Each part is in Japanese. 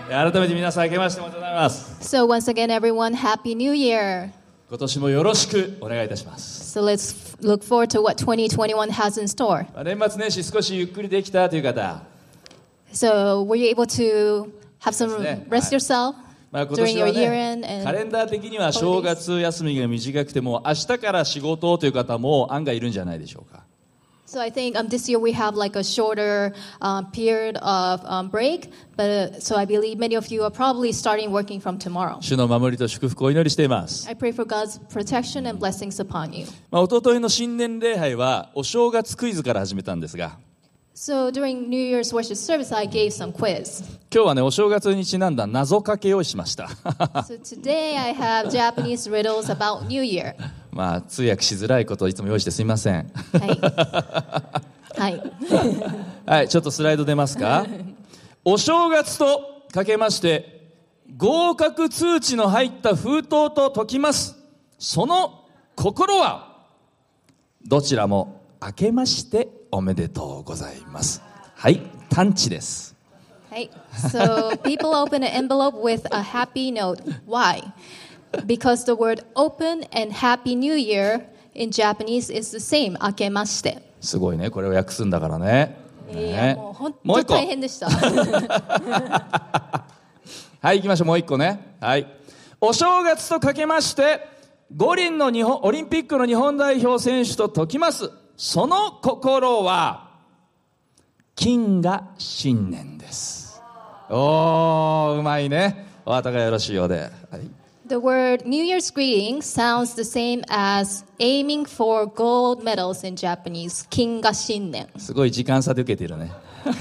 改めて皆さん明けましておめでとうございます。 So once again, everyone, Happy New Year. 今年もよろしくお願いいたします。 So let's look forward to what 2021 has in store. 年末年始少しゆっくりできたという方、 So were you able to have some rest yourself 今 during 年 your は year ね end? カレ And ンダー的には正月休みが短くても明日から仕事という方も案外いるんじゃないでしょうか。 so I think this year we have like a shorter period of break, but so I believe many of you are probably starting working from tomorrow. 主の守りと祝福をお祈りしています。 I pray for God's protection and blessings upon you. 一昨日の新年礼拝はお正月クイズから始めたんですが、 So during New Year's worship service, I gave some quiz. 今日はねお正月にちなんだ謎かけをしました。 So today I have Japanese riddles about New Year. 通訳しづらいことをいつも用意してすみません。 はい。 はい、ちょっとスライド出ますか。お正月とかけまして合格通知の入った封筒と解きます。その心はどちらも明けましておめでとうございます。はい、探知です。 Right. So people open an envelope with a happy note. Why? Because the word open and Happy New Year in Japanese is the same. 明けまして。 すごいね、これを訳すんだからね。 いや、もう本当に大変でした。 はい、行きましょう。もう一個ね。はい。お正月とかけまして五輪のオリンピックの日本代表選手と解きます。その心は金が新年です。おー、うまいね。お後がよろしいようで。はい。 The word New Year's greeting sounds the same as aiming for gold medals in Japanese. 金が新年。 すごい時間差で受けているね。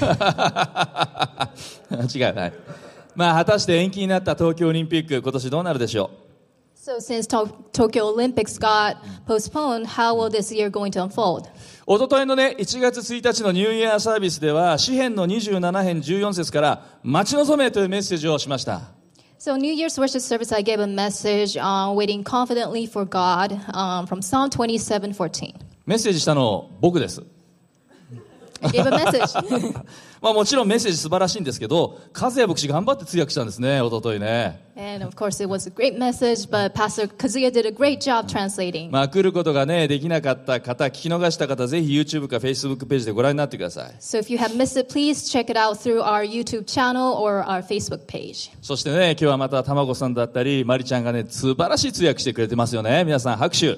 違う。はい。果たして延期になった東京オリンピック、今年どうなるでしょう。 So since Tokyo Olympics got postponed, how will this year going to unfold? おとといのね、1月1日のニューイヤーサービスでは、詩編の27編14節から待ち望めというメッセージをしました。 So New Year's worship service, I gave a message on waiting confidently for God from Psalm 27:14. メッセージしたの僕です。 I gave a message. もちろんメッセージ素晴らしいんですけど、和也牧師頑張って通訳したんですね、おとといね。 And of course it was a great message, but Pastor Kazuya did a great job translating. 来ることがね、できなかった方、聞き逃した方、ぜひ YouTube か Facebook ページでご覧になってください。 So if you have missed it, please check it out through our YouTube channel or our Facebook page. そしてね、今日はまた卵さんだったり、まりちゃんがね、素晴らしい通訳してくれてますよね。皆さん拍手。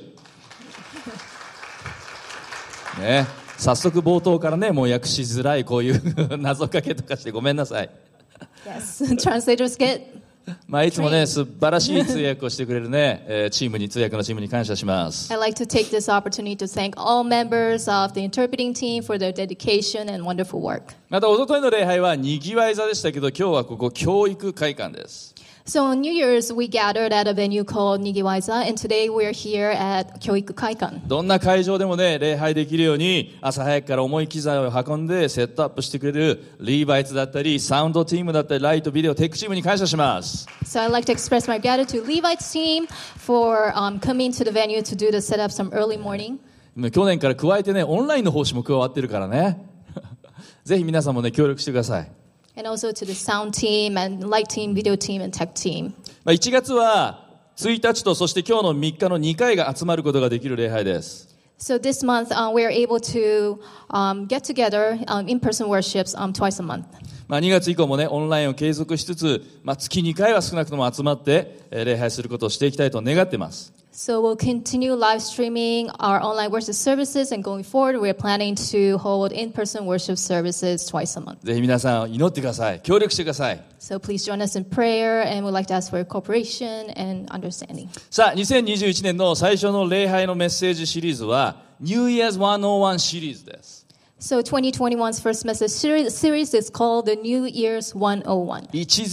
ね。早速冒頭からね、もう訳しづらいこういう謎かけとかしてごめんなさい。 Yes, translators get. いつもね、素晴らしい通訳をしてくれるね、チームに、通訳のチームに感謝します。 I'd like to take this opportunity to thank all members of the interpreting team for their dedication and wonderful work. また、おとといの礼拝はにぎわい座でしたけど、今日はここ教育会館です。 So on New Year's, we gathered at a venue called Nigiwaiza, and today we're here at Kyoiku Kaikan. どんな会場でもね、礼拝できるように、朝早くから重い機材を運んでセットアップしてくれるリーバイツだったり、サウンドチームだったり、ライト、ビデオ、テックチームに感謝します。 So I'd like to express my gratitude to Levites team for coming to the venue to do the setup some early morning. 去年から加えてね、オンラインの奉仕も加わってるからね。ぜひ皆さんもね、協力してください。 And also to the sound team and light team, video team, and tech team. 1月は1日とそして今日の3日の2回が集まることができる礼拝です。 So this month we are able to get together in-person worships twice a month. 2月以降もね、オンラインを継続しつつ、月2回は少なくとも集まって礼拝することをしていきたいと願っています。 So we'll continue live streaming our online worship services, and going forward, we're planning to hold in-person worship services twice a month. ぜひ皆さん祈ってください。協力してください。 So please join us in prayer, and we'd like to ask for your cooperation and understanding. さあ、2021年の最初の礼拝のメッセージシリーズは New Year's 101シリーズです。 So 2021's first message series is called the New Year's 101.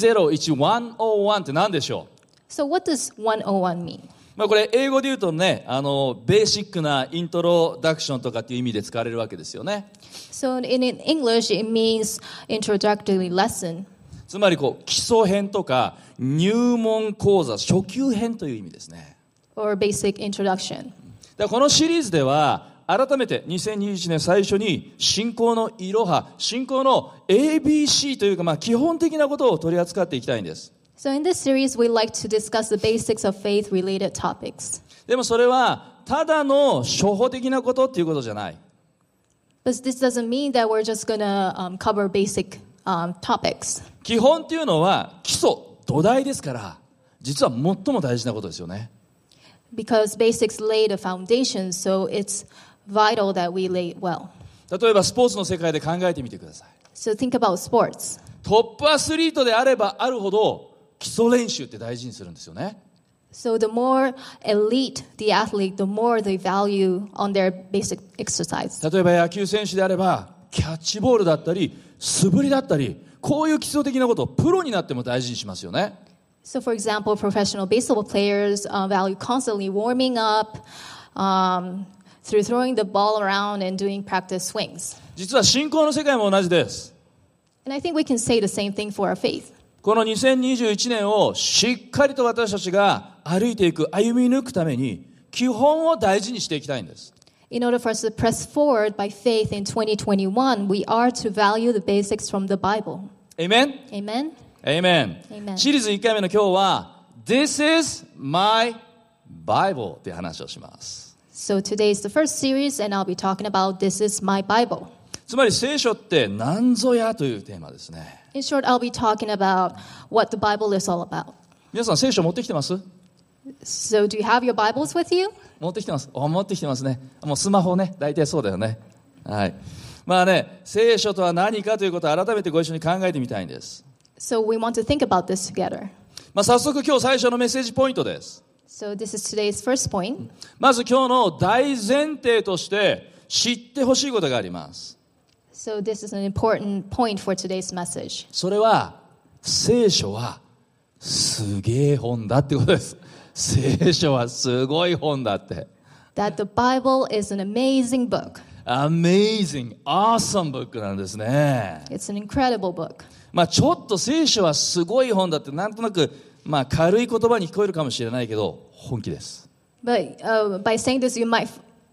101って何でしょう？ So what does 101 mean? これ英語で言うとね、ベーシックなイントロダクションとかっていう意味で使われるわけですよね。 So in English, it means introductory lesson. つまり基礎編とか入門講座、初級編という意味ですね。 Or basic introduction. このシリーズでは改めて2021年最初に信仰のいろは、信仰の ABC というか、基本的なことを取り扱っていきたいんです。 So in this series, we like to discuss the basics of faith-related topics. でもそれはただの初歩的なことっていうことじゃない。 But this doesn't mean that we're just going to cover basic topics. 基本っていうのは基礎、土台ですから、実は最も大事なことですよね。 Because basics lay the foundation, so it's vital that we lay it well. 例えばスポーツの世界で考えてみてください。 So think about sports. トップアスリートであればあるほど基礎練習って大事にするんですよね。 So the more elite the athlete, the more they value on their basic exercise. 例えば野球選手であればキャッチボールだったり素振りだったり、こういう基礎的なことをプロになっても大事にしますよね。 So for example, professional baseball players value constantly warming up through throwing the ball around and doing practice swings. 実は信仰の世界も同じです。 And I think we can say the same thing for our faith. この2021年をしっかりと私たちが歩いていく、歩み抜くために基本を大事にしていきたいんです。 In order for us to press forward by faith in 2021, we are to value the basics from the Bible. Amen? Amen? Amen. シリーズ1回目の今日は This is my Bible っていう話をします。 So today is the first series and I'll be talking about This is my Bible. つまり聖書って何ぞやというテーマですね。 In short, I'll be talking about what the Bible is all about. 皆さん聖書持ってきてます？ So do you have your Bibles with you? 持ってきてます。持ってきてますね。もうスマホね、大体そうだよね。はい。聖書とは何かということを改めてご一緒に考えてみたいんです。 So we want to think about this together. 早速今日最初のメッセージポイントです。 So this is today's first point. まず今日の大前提として知ってほしいことがあります。 So this is an important point for today's message. それは聖書はすげえ本だってことです。聖書はすごい本だって。 That the Bible is an amazing book. Amazing, awesome book なんですね。 It's an incredible book. ちょっと聖書はすごい本だってなんとなく軽い言葉に聞こえるかもしれないけど本気です。 But by saying this, you might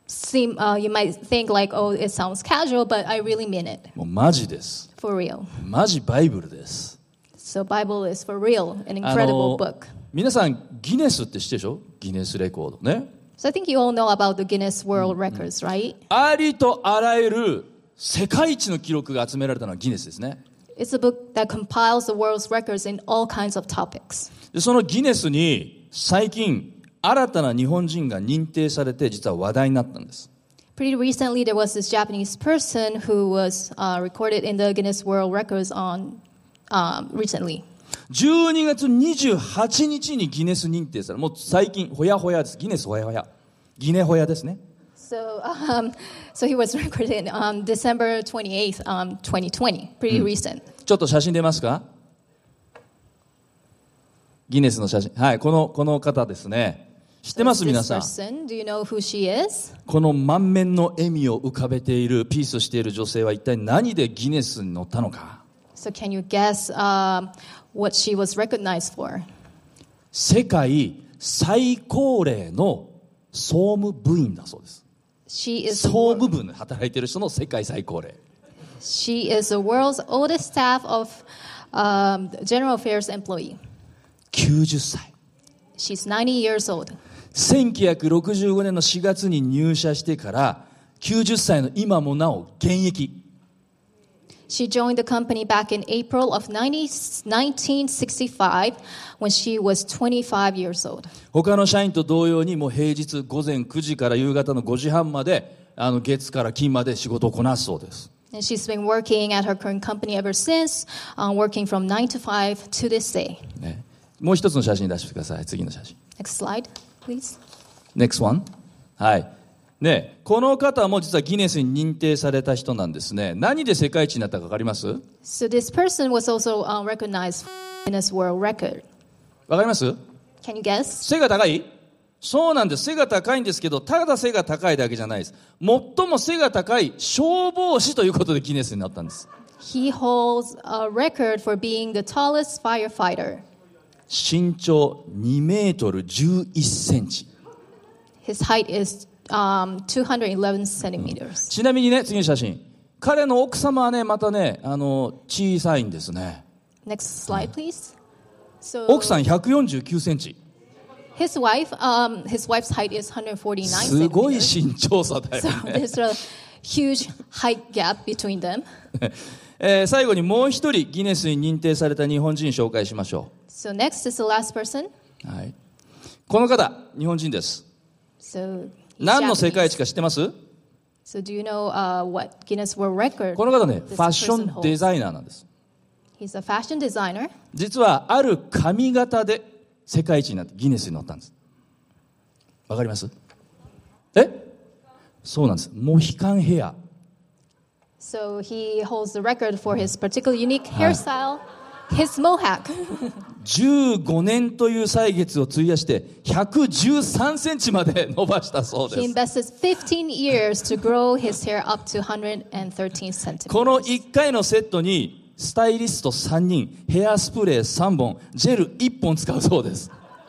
think like, oh, it sounds casual, but I really mean it. もうマジです。 For real. マジバイブルです。 So Bible is for real, an incredible book. 皆さんギネスって知ってるでしょ？ギネスレコードね。 So I think you all know about the Guinness World Records, right? ありとあらゆる世界一の記録が集められたのはギネスですね。 It's a book that compiles the world's records in all kinds of topics. でそのギネスに最近新たな日本人が認定されて実は話題になったんです。 Pretty recently, there was this Japanese person who was recorded in the Guinness World Records recently. 12月28日にギネス認定され、もう最近ほやほやです。ギネスほやほや。ギネほやですね。 So he was recorded on December 28th, 2020. Pretty recent. ちょっと写真出ますか？ギネスの写真。はい、この方ですね。知ってます皆さん。 Do you know who she is? この満面の笑みを浮かべているピースしている女性は一体何でギネスに載ったのか。 So can you guess what she was recognized for? 世界最高齢の総務部員だそうです。総務部で働いている人の世界最高齢。 She is the world's oldest staff of general affairs employee. 90歳。 She's 90 years old. 1965年の4月に入社してから90歳の今もなお現役。 She joined the company back in April of 1965 when she was 25 years old. 他の社員と同様にもう平日午前9時から夕方の5時半まで月から金まで仕事をこなすそうです。 And she's been working at her current company ever since, working from 9 to 5 to this day. ね、もう一つの写真出してください。次の写真。 Next slide, please. Next one. はい。ね、この方も実はギネスに認定された人なんですね。何で世界一になったか分かります？ So this person was also recognized in Guinness World Record. 分かります？ Can you guess? 背が高い？そうなんです。背が高いんですけど、ただ背が高いだけじゃないです。最も背が高い消防士ということでギネスになったんです。 He holds a record for being the tallest firefighter. 身長2メートル11センチ。 His height is 211 centimeters. ちなみにね、次の写真。彼の奥様はね、またね、小さいんですね。 Next slide, please. So 奥さん149センチ。 his wife's height is 149 すごい centimeters. 身長差だよ So ね。 there's a huge height gap between them. 最後にもう一人ギネスに認定された日本人紹介しましょ So next is the last person. う。はい。この方、日本人です。 So 何の世界 Japanese. 一か知ってます？ So do you know what Guinness World Record? この方ね、 this ファッショ person ンデ holds? ザイナーなんです。 He's a fashion designer. 実はある髪型で世界一になってギネスに載ったんです。わかります？そうなんです。モヒカンヘア。 So he holds the record for his particular unique hairstyle, his mohawk. 15年という歳月を費やして113センチまで伸ばしたそう He です。 invested 15 years to grow his hair up to 113 この centimeters. 1回のセットにスタイリスト3人、ヘアスプレー3本、ジェル1本使うそうです。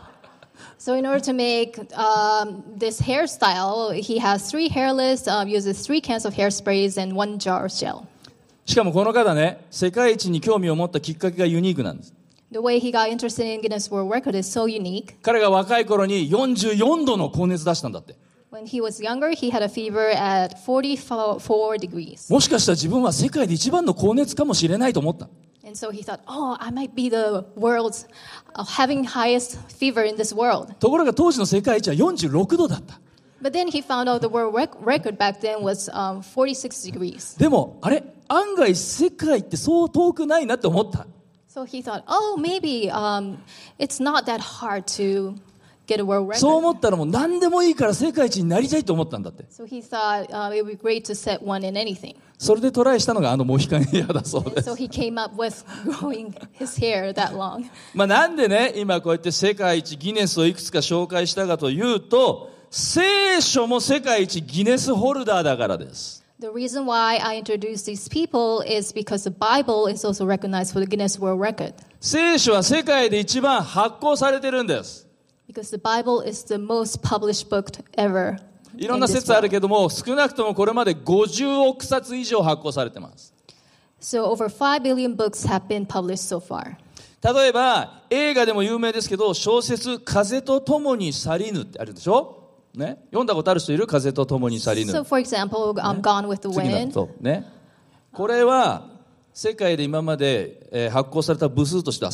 So in order to make this hairstyle, he has 3 hairlists, uses 3 cans of hairsprays and 1 jar of gel. しかもこの方ね、世界一に興味を持ったきっかけがユニークなんです。 The way he got interested in Guinness World Record is so unique. 彼が若い頃に44度の高熱出したんだって。 When he was younger, he had a fever at 44 degrees. もしかしたら自分は世界で一番の高熱かもしれないと思った。 And so he thought, oh, I might be the world's having highest fever in this world. ところが当時の世界一は46度だった。 But then he found out the world record back then was 46 degrees. でも、あれ案外世界ってそう遠くないなって思った。 So he thought, oh, maybe it's not that hard to get a world そう record. 思ったらもう何でもいいから世界一になりたいと思ったんだって。 So he thought it would be great to set one in anything. それでトライしたのがモヒカンヘアだそうで And す。 so he came up with growing his hair that long. なんでね、今こうやって世界一ギネスをいくつか紹介したかというと、聖書も世界一ギネスホルダーだからです。 The reason why I introduced these people is because the Bible is also recognized for the Guinness World Record. 聖書は世界で一番発行されてるんです。 Because the Bible is the most published book ever. いろんな説あるけども、少なくともこれまで50億冊以上発行されてます。 So over 5 billion books have been published so far. 例えば映画でも有名ですけど、小説風と共に去りぬってあるでしょ、ね、読んだことある人いる？風と共に去りぬ。 So for example, Gone with the 次の Wind. そうね。これは世界で今まで、発行された部数としては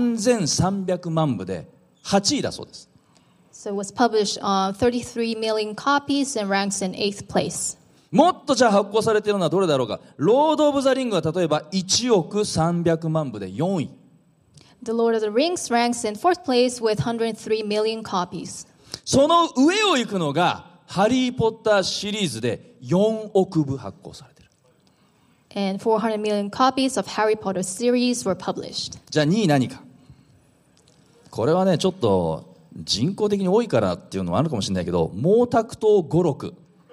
3300万部で8位だそうです。 So it was published 33 million copies and ranks in 8th place. もっとじゃあ発行されているのはどれだろうか。ロード・オブ・ザ・リングは例えば1億300万部で4位。 The Lord of the Rings ranks in 4th place with 103 million copies. その上を行くのがハリー・ポッターシリーズで4億部発行されている。 And 400 million copies of Harry Potter series were published. じゃあ2位何か。これはねちょっと人口的に多いからっていうのもあるかもしれないけど、毛沢東語録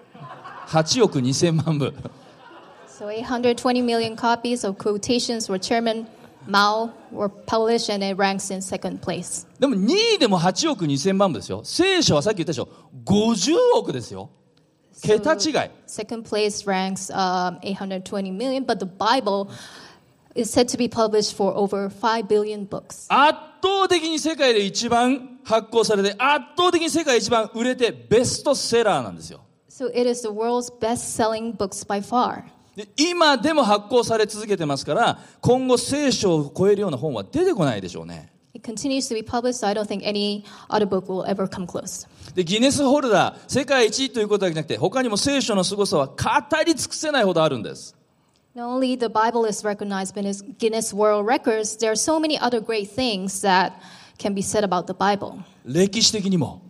8億2000万部。 So 820 million copies of quotations for Chairman Mao were published and it ranks in 2nd place. でも2位でも8億2000万部ですよ。聖書はさっき言ったでしょ、50億ですよ。桁違い。 2nd place ranks 820 million, but the Bible is said to be published for over 5 billion books. 圧倒的に世界で一番発行されて、圧倒的に世界一番売れてベストセラーなんですよ。 So it is the world's best-selling books by far. で今でも発行され続けてますから、今後聖書を超えるような本は出てこないでしょうね。 It continues to be published, so I don't think any other book will ever come close. でギネスホルダー世界一ということだけじゃなくて、他にも聖書の凄さは語り尽くせないほどあるんです。 Not only the Bible is recognized by Guinness World Records, there are so many other great things that can be said about the Bible. 歴史的にも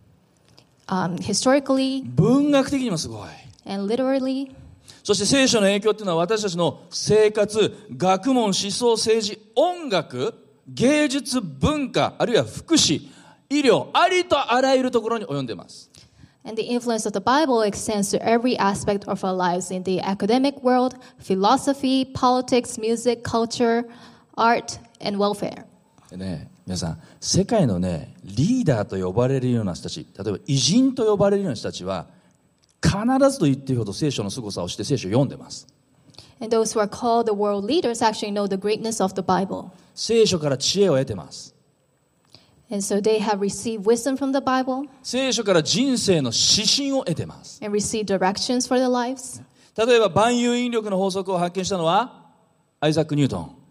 Historically 文学的にもすごい。 and literally. そして聖書の影響っていうのは私たちの生活、学問、思想、政治、音楽、芸術、文化、あるいは福祉、医療、ありとあらゆるところに及んでいます。 And the influence of the Bible extends to every aspect of our lives in the academic world, philosophy, politics, music, culture, art, and welfare. でね、皆さん、世界のね、リーダーと呼ばれるような人たち、例えば偉人と呼ばれるような人たちは、 必ずと言っていいほど聖書の凄さをして聖書を読んでます。 And those who are called the world leaders actually know the greatness of the Bible. 聖書から知恵を得てます。 And so they have received wisdom from the Bible 聖書から人生の指針を得てます。 and received directions for their lives. 例えば万有引力の法則を発見したのはアイザック・ニュートン。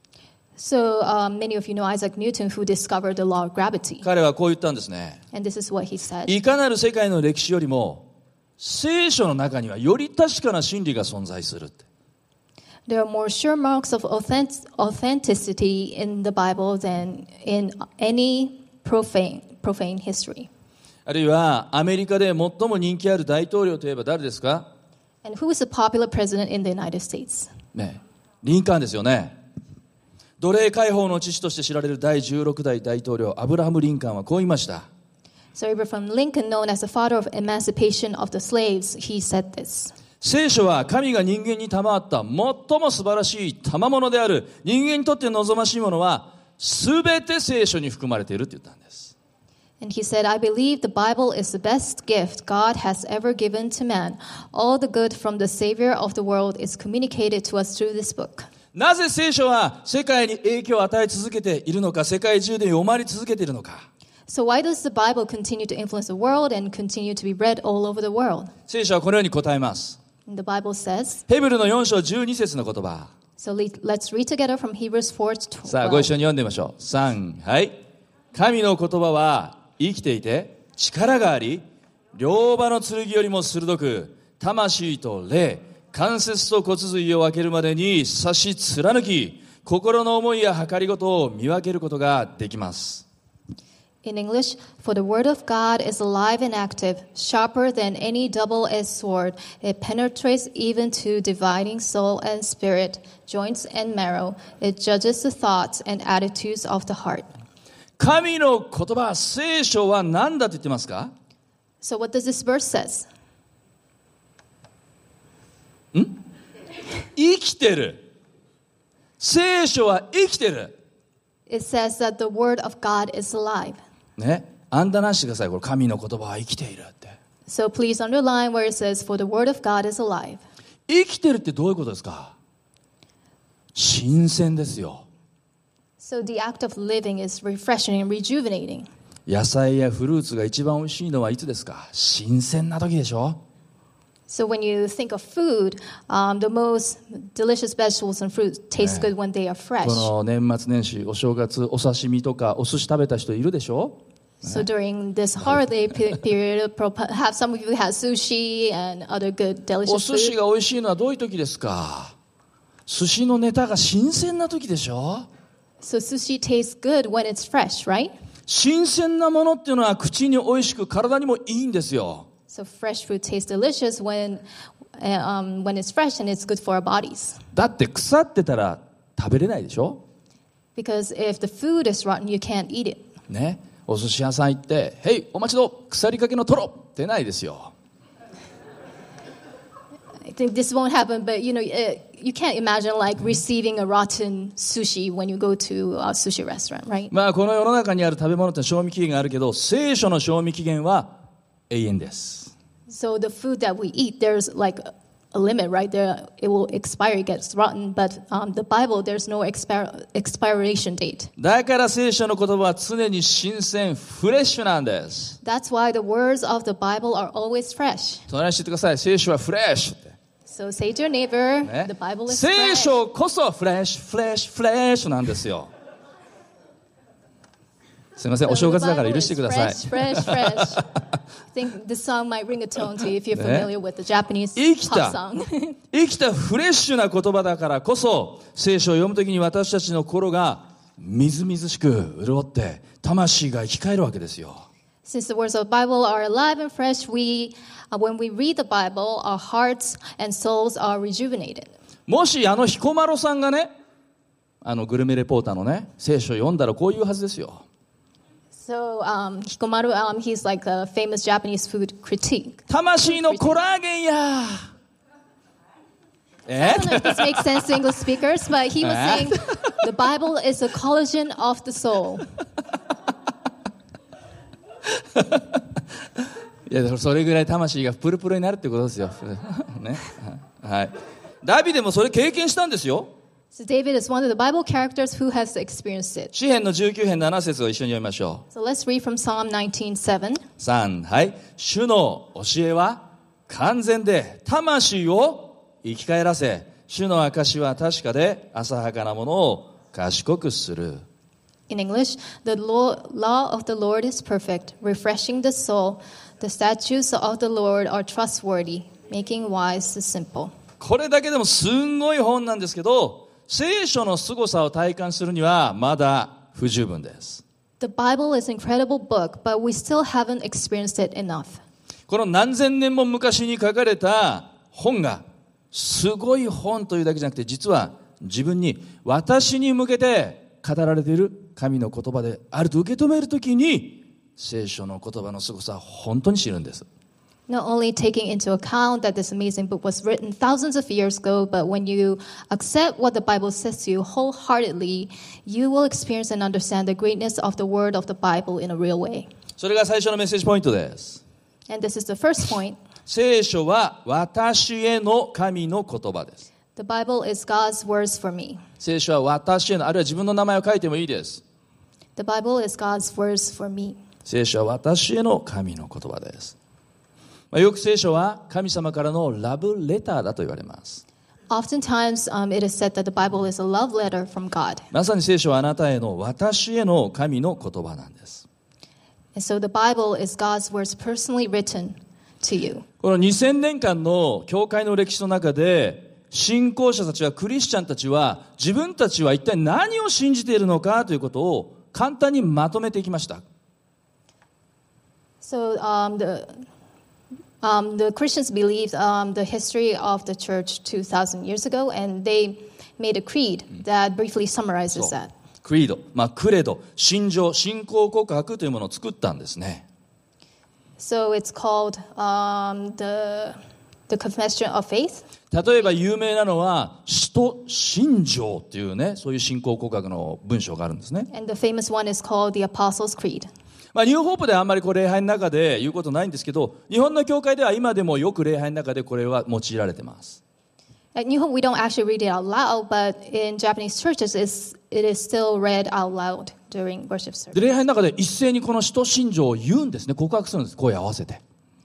So many of you know Isaac Newton, who discovered the law of gravity. 彼はこう言ったんですね。 And this is what he said. いかなる世界の歴史よりも聖書の中にはより確かな真理が存在するって。 There are more sure marks of authenticity in the Bible than in any profane history. あるいはアメリカで最も人気ある大統領といえば誰ですか？ And who is the popular president in the United States? ね、リンカーンですよね。奴隷解放の父として知られる第16代大統領アブラハム・リンカーンはこう言いました。 So Abraham Lincoln, known as the father of emancipation of the slaves, he said this. 聖書は神が人間に賜った最も素晴らしい賜物である。人間にとって望ましいものは全て聖書に含まれているって言ったんです。 And he said, I believe the Bible is the best gift God has ever given to man. All the good from the Savior of the world is communicated to us through this book. なぜ聖書は世界に影響を与え続けているのか、世界中で読まれ続けているのか。 So why does the Bible continue to influence the world and continue to be read all over the world? 聖書はこのように答えます。 And the Bible says, ヘブルの4章12節の言葉。 so let's read together from Hebrews 4:12. さあご一緒に読んでみましょう。3、はい。神の言葉は生きていて力があり、両刃の剣よりも鋭く、魂と霊、関節と骨髄を分けるまでに刺し貫き、心の思いや計りごとを見分けることができます。 In English, for the word of God is alive and active, sharper than any double-edged sword. It penetrates even to dividing soul and spirit, joints and marrow. It judges the thoughts and attitudes of the heart. 神の言葉、聖書は何だと言ってますか？ So what does this verse says? 生きてる。聖書は生きてる。 It says that the word of God is alive. ね、アンダーなしてください。これ神の言葉は生きているって。 So please underline where it says, for the word of God is alive. 生きてるってどういうことですか？新鮮ですよ。 So the act of living is refreshing and rejuvenating. 野菜やフルーツが一番美味しいのはいつですか？新鮮な時でしょ？ So when you think of food, the most delicious vegetables and fruits taste good when they are fresh. この年末年始、お正月、お刺身とかお寿司食べた人いるでしょ？ So during this holiday period, perhaps some of you had sushi and other good お delicious 寿司 food. が美味しいのはどういう時ですか？寿司のネタが新鮮な時でしょ？ So sushi tastes good when it's fresh, right? 新鮮なものっていうのは口に美味しく体にもいいんですよ。 So fresh food tastes delicious when it's fresh and it's good for our bodies. だって腐ってたら食べれないでしょ？ Because if the food is rotten, you can't eat it. ね、お寿司屋さん行って「へいお待ちど腐りかけのトロ」ってないですよ。 I think this won't happen, but you can't imagine like receiving a rotten sushi when you go to a sushi restaurant, right? まあこの世の中にある食べ物って賞味期限があるけど、聖書の賞味期限は永遠です。 So the food that we eat, there's like a limit, right? There, it will expire, it gets rotten. But the Bible, there's no expiration date. だから聖書の言葉は常に新鮮、フレッシュなんです。 That's why the words of the Bible are always fresh. 隣にしてください。聖書はフレッシュって。 So say to your neighbor, ね the Bible is 聖 fresh. 書こそフレッシュ、フレッシュ、フレッシュなんですよ。すみません、 So お正月 the だから Bible 許して is ください。 fresh, fresh, fresh. I think this song might ring a tone to you if you're familiar with the Japanese 生き pop た song. 生きたフレッシュな言葉だからこそ、聖書を読むときに私たちの心がみずみずしく潤って魂が生き返るわけですよ。 Since the words of the Bible are alive and fresh, when we read the Bible, our hearts and souls are rejuvenated. もし彦摩呂さんがね、グルメレポーターのね、聖書を読んだらこういうはずですよ。 So Hikomaru, he's like a famous Japanese food critique. 魂のコラーゲンや。 I don't know if this makes sense to English speakers, but he was saying the Bible is a collagen of the soul. いや、それぐらい魂がプルプルになるってことですよ。ね。はい。ダビデもそれ経験したんですよ。 So David is one of the Bible characters who has experienced it. 詩編の19編7節を一緒に読みましょう。 So let's read from Psalm 19:7. 3、はい。主の教えは完全で、魂を生き返らせ、主の証は確かで、浅はかなものを賢くする。 In English, the law of the Lord is perfect, refreshing the soul. The statutes of the Lord are trustworthy, making wise the simple. これだけでもすんごい本なんですけど、聖書の凄さを体感するにはまだ不十分です。 The Bible is an incredible book, but we still haven't experienced it enough. この何千年も昔に書かれた本がすごい本というだけじゃなくて、実は自分に、私に向けて語られている神の言葉であると受け止めるときに、聖書の言葉の凄さを本当に知るんです。 Not only taking into account that this amazing book was written thousands of years ago, but when you accept what the Bible says to you wholeheartedly, you will experience and understand the greatness of the word of the Bible in a real way. それが最初のメッセージポイントです。 And this is the first point. 聖書は私への神の言葉です。 The Bible is God's words for me. 聖書は私への、あるいは自分の名前を書いてもいいです。 The Bible is God's words for me. 聖書は私への神の言葉です。よく聖書は神様からのラブレターだと言われます。 Oftentimes, it is said that the Bible is a love letter from God. まさに聖書はあなたへの、私への神の言葉なんです。 And so the Bible is God's words personally written to you. この2000年間の教会の歴史の中で、信仰者たちは、クリスチャンたちは、自分たちは一体何を信じているのかということを簡単にまとめていきました。 So the Christians believed the history of the church 2,000 years ago, and they made a creed that briefly summarizes that. クリード、クレド、信条、信仰告白というものを作ったんですね。 So it's called the confession of faith. 例えば有名なのは使徒信条っていうね、そういう信仰告白の文章があるんですね。 And the famous one is called the Apostles' Creed. ニューホープではあんまり礼拝の中で言うことないんですけど、日本の教会では今でもよく礼拝の中でこれは用いられています。 At New Hope, we don't actually read it out loud, but in Japanese churches, it is still read out loud during worship service. で、礼拝の中で一斉にこの使徒信条を言うんですね。告白するんです。声を合わせて。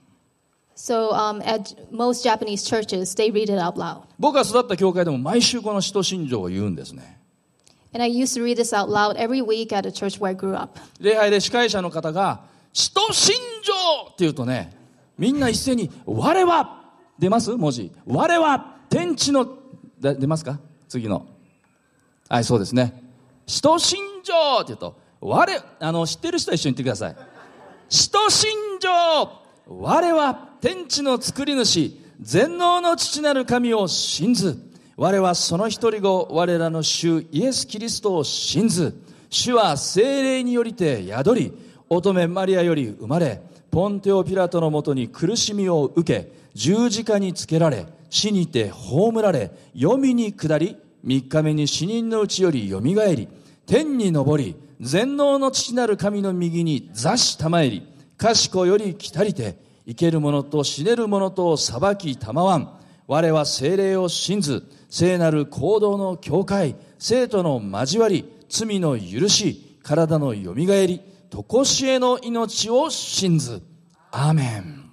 So at most Japanese churches, they read it out loud. 僕が育った教会でも毎週この使徒信条を言うんですね。 And I used to read this out loud every week at a church where I grew up. 礼拝で司会者の方が使徒信条って言うとね、みんな一斉に我は出ます？文字。我は天地の出ますか？次の。はい、そうですね。使徒信条って言うと知ってる人は一緒に言ってください。使徒信条、我は天地の作り主、全能の父なる神を信ず。我はその一人子、我らの主イエス・キリストを信ず。主は聖霊によりて宿り、乙女マリアより生まれ、ポンテオ・ピラトのもとに苦しみを受け、十字架につけられ、死にて葬られ、黄泉に下り、三日目に死人のうちよりよみがえり、天に昇り、全能の父なる神の右に座したまえり、賢より来たりて、生ける者と死ねる者と裁きたまわん。我は聖霊を信ず、聖なる行動の教会、生徒の交わり、罪の許し、体のよみがえり、とこしえの命を信ず。アーメン。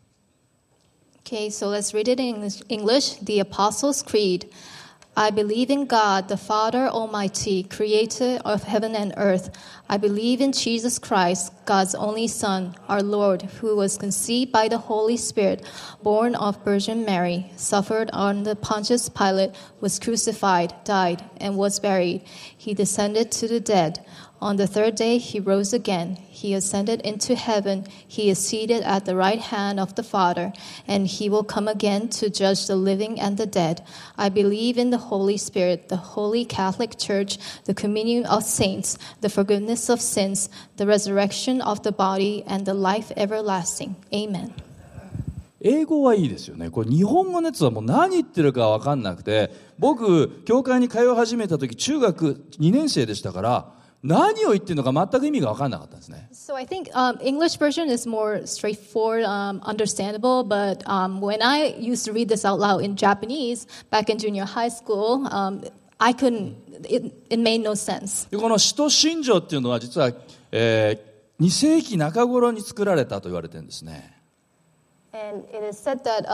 Okay, so let's read it in English. The Apostles' Creed. I believe in God, the Father Almighty, creator of heaven and earth. I believe in Jesus Christ, God's only Son, our Lord, who was conceived by the Holy Spirit, born of Virgin Mary, suffered under Pontius Pilate, was crucified, died, and was buried. He descended to the dead. On the third day he rose again. He ascended into heaven. He is seated at the right hand of the Father, and he will come again to judge the living and the dead. I believe in the Holy Spirit, the Holy Catholic Church, the communion of saints, the forgiveness of sins, the resurrection of the body, and the life everlasting. Amen. 英語はいいですよね。これ日本語のやつはもう何言ってるか分かんなくて、僕教会に通い始めた時中学2年生でしたから、 何を言ってるのか全く意味が分からなかったんですね。 So I think English version is more straightforward, understandable. But when I used to read this out loud in Japanese back in junior high school, I couldn't. It made no sense. でこの使徒信条っていうのは実は、2世紀中頃に作られたと言われてるんですね。 And it is said that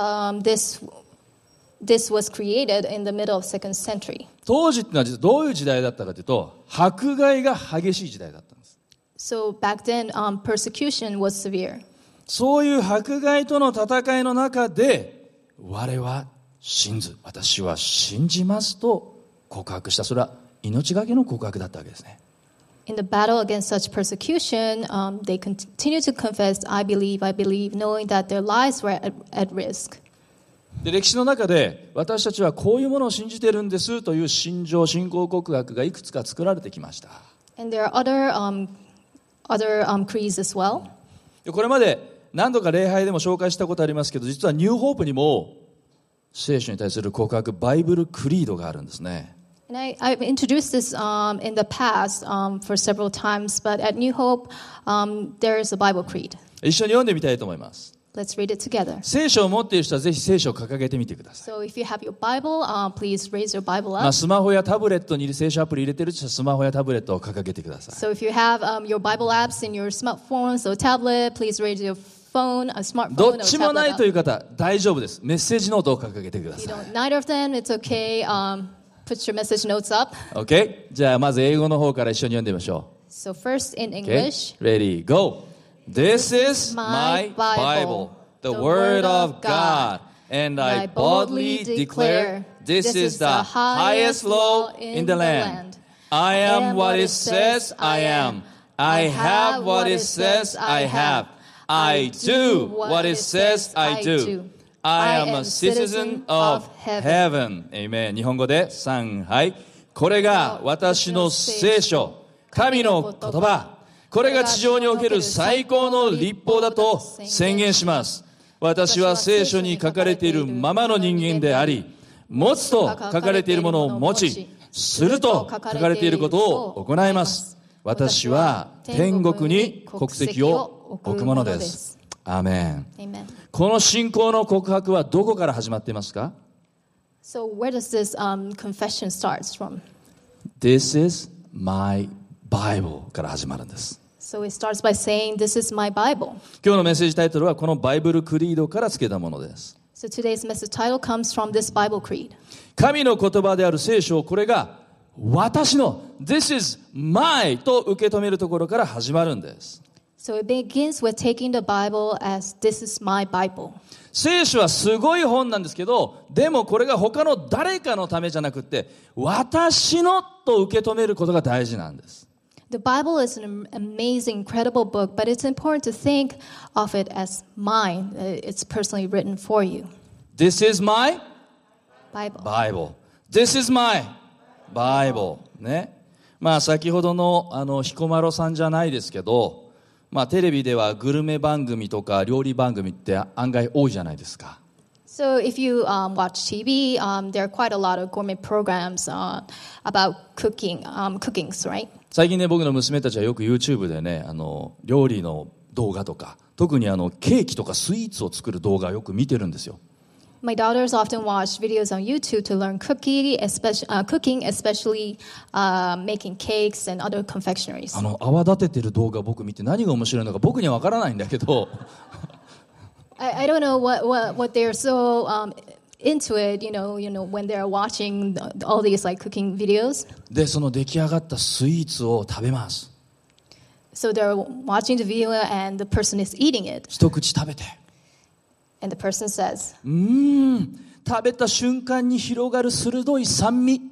this was created in the middle of 2nd century. 当時っていうのは実はどういう時代だったかというと、迫害が激しい時代だったんです。 So back then, persecution was severe. そういう迫害との戦いの中で、我は信ず、私は信じますと告白した。それは命がけの告白だったわけですね。 In the battle against such persecution, they continued to confess, I believe, knowing that their lives were at risk. で歴史の中で私たちはこういうものを信じているんですという信条、信仰告白がいくつか作られてきました。 And there are other creeds as well. でこれまで何度か礼拝でも紹介したことありますけど、実はニューホープにも聖書に対する告白、バイブルクリードがあるんですね。 And I've introduced this in the past for several times, but at New Hope, there is a Bible creed. 一緒に読んでみたいと思います。 Let's read it together. 聖書を持っている人はぜひ聖書を掲げてみてください。 So if you have your Bible, please raise your Bible up. スマホやタブレットに聖書アプリ入れてる人はスマホやタブレットを掲げてください。 So if you have your Bible apps in your smartphones or tablet, please raise your phone, a ど smartphone っ or ちもない tablet という up. 方、大丈夫です。メッセージノートを掲げてくだ If you さい。 don't, neither of them, it's okay. Put your message notes up. OK? じゃあまず英語の方から一緒に読んでみましょ So first in う。OK? English. Ready, go! This is my Bible, the Word of God, and I boldly declare this is the highest law in the land. I am what it says I am. I have what it says I have. I do what it says I do. I am a citizen of heaven. Amen. 日本語で3、はい。これが私の聖書、神の言葉。これが地上における最高の律法だと宣言します。私は聖書に書かれているままの人間であり、持つと書かれているものを持ち、すると書かれていることを行います。私は天国に国籍を置くものです。アーメン。 Amen. この信仰の告白はどこから始まっていますか？ So where does this confession start from? This is my Bible から始まるんです。 So it starts by saying, This is my Bible. 今日のメッセージタイトルはこのバイブルクリードから付けたものです。 So today's message title comes from this Bible creed. 神の言葉である聖書をこれが私の This is my と受け止めるところから始まるんです。 So it begins with taking the Bible as this is my Bible. 聖書はすごい本なんですけど、でもこれが他の誰かのためじゃなくて私のと受け止めることが大事なんです。 The Bible is an amazing, incredible book, but it's important to think of it as mine. It's personally written for you. This is my Bible. Bible. This is my Bible. ね。先ほどの彦摩呂さんじゃないですけど、テレビではグルメ番組とか料理番組って案外多いじゃないですか。 So if you watch TV, there are quite a lot of gourmet programs about cookings, right? 最近ね、僕の娘たちはよく YouTube でね、料理の動画とか、特にケーキとかスイーツを作る動画をよく見てるんですよ。 My daughters often watch videos on YouTube to learn cooking, especially making cakes and other confectionaries. 泡立ててる動画僕見て何が面白いのか僕には分からないんだけど I don't know what they're so into it, when they're watching all these like cooking videos. で、その出来上がったスイーツを食べます。 So they're watching the video and the person is eating it. 一口食べて。 And the person says, 食べた瞬間に広がる鋭い酸味。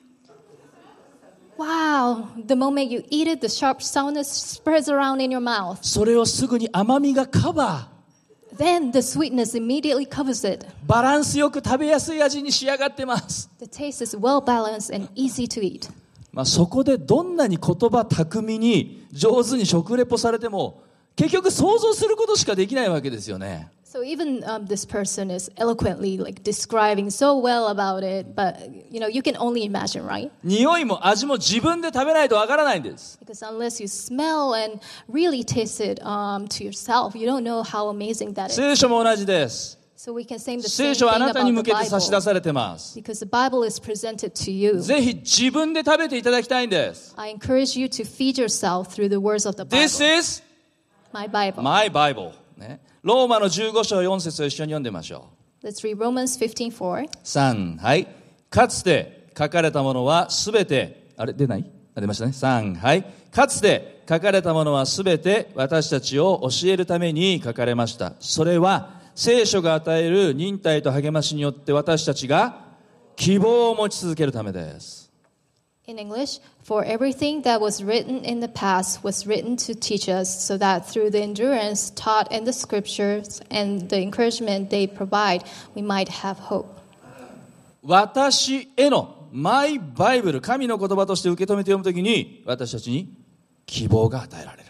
Wow, the moment you eat it, the sharp soundness spreads around in your mouth. それをすぐに甘みがカバー。 Then the sweetness immediately covers it. バランスよく食べやすい味に仕上がってます。 The taste is well balanced and easy to eat. そこでどんなに言葉巧みに上手に食レポされても結局想像することしかできないわけですよね。 So even this person is eloquently like describing so well about it, but you can only imagine, right? 匂いも味も自分で食べないとわからないんです。 Because unless you smell and really taste it to yourself, you don't know how amazing that is. 聖書も同じです。 So we can say the 聖 same 書はあ thing なたに about 向 the けて差し出 Bible. されてます。 Because the Bible is presented to you. ぜひ自分で食べていただきたいんです。 I encourage you to feed yourself through the words of the Bible. This is My Bible. my Bible、ね。ローマの15章4節を一緒に読んでみましょう。 Let's read Romans 15:4. 3、はい。かつて書かれたものはすべて、出ない？出ましたね。3、はい。かつて書かれたものはすべて私たちを教えるために書かれました。それは聖書が与える忍耐と励ましによって私たちが希望を持ち続けるためです。 In English, for everything that was written in the past was written to teach us, so that through the endurance taught in the scriptures and the encouragement they provide, we might have hope. 私へのマイバイブル、神の言葉として受け止めて読むときに私たちに希望が与えられる。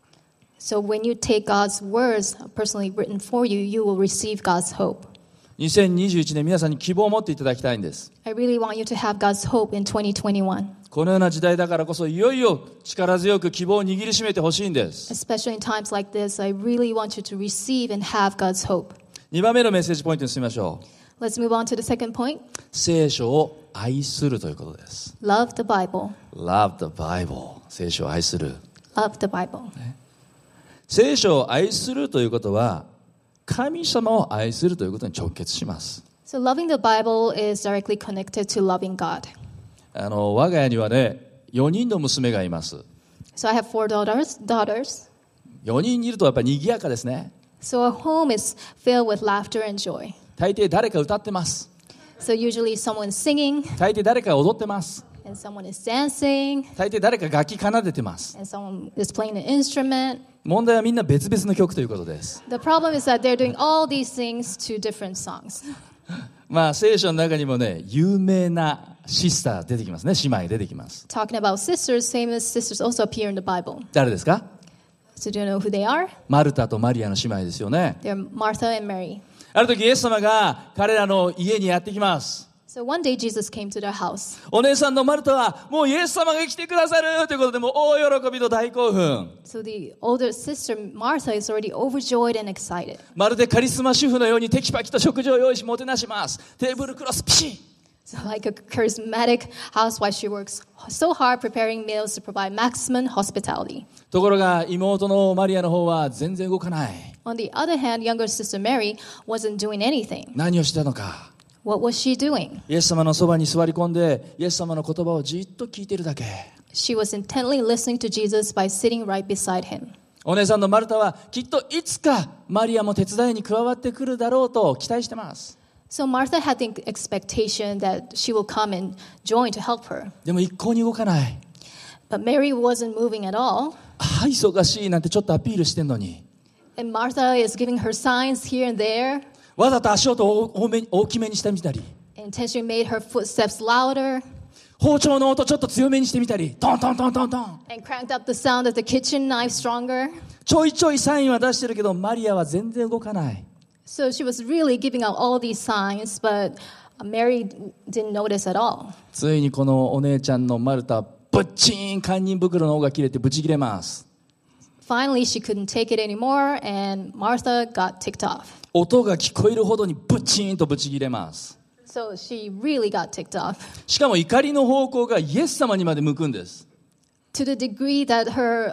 So when you take God's words personally written for you, you will receive God's hope. 2021年皆さんに希望を持っていただきたいんです。 I really want you to have God's hope in 2021. このような時代だからこそいよいよ力強く希望を握りしめてほしいんです。 Especially in times like this, I really want you to receive and have God's hope. 2番目のメッセージポイントに進みましょう。 Let's move on to the second point. 聖書を愛するということです。 Love the Bible. Love the Bible。聖書を愛する。 Love the Bible. 聖書を愛するということは神様を愛するということに直結します。 So loving the Bible is directly connected to loving God. 我が家にはね、4人の娘がいます。 So I have 4 daughters. 4人いるとやっぱり賑やかですね。 So our home is filled with laughter and joy. 大抵誰か歌ってます。 So usually someone's singing 大抵誰かが踊ってます。 and someone is dancing 大抵誰か楽器奏でてます。 and someone is playing an instrument. 問題はみんな別々の曲ということです。 The problem is that they're doing all these things to different songs. まあ聖書の中にもね、有名なシスター出てきますね。姉妹出てきます。 Talking about sisters, famous sisters also appear in the Bible. 誰ですか？ So do you know who they are? マルタとマリアの姉妹ですよね。 They're Martha and Mary. ある時イエス様が彼らの家にやってきます。 So one day Jesus came to their house. お姉さんのマルタはもうイエス様が来てくださるということでもう大喜びと大興奮。 So the older sister Martha is already overjoyed and excited. まるでカリスマ主婦のようにテキパキと食事を用意しもてなします。テーブルクロスピシッ。 So like a charismatic housewife, she works so hard preparing meals to provide maximum hospitality. ところが妹のマリアの方は全然動かない。 On the other hand, younger sister Mary wasn't doing anything. 何をしてたのか。 What was she doing? イエス様のそばに座り込んでイエス様の言葉をじっと聞いているだけ。 She was intently listening to Jesus by sitting right beside him. お姉さんのマルタはきっといつかマリアも手伝いに加わってくるだろうと期待してます。 So Martha had the expectation that she will come and join to help her. でも一向に動かない。 But Mary wasn't moving at all. あ、忙しいなんてちょっとアピールしてんのに。 And Martha is giving her signs here and there. わざと足音を大きめにしてみたり。 Intentionally made her footsteps louder. 包丁の音ちょっと強めにしてみたり。トントントントントン。 And cranked up the sound of the kitchen knife stronger. ちょいちょいサインは出してるけどマリアは全然動かない。 So she was really giving out all these signs, but Mary didn't notice at all. ついにこのお姉ちゃんのマルタ、ぶっちーん堪忍袋の緒が切れてブチ切れます。 Finally, she couldn't take it anymore, and Martha got ticked off. 音が聞こえるほどにブチーンとブチ切れます。 So she really got ticked off. しかも怒りの方向がイエス様にまで向くんです。 To the degree that her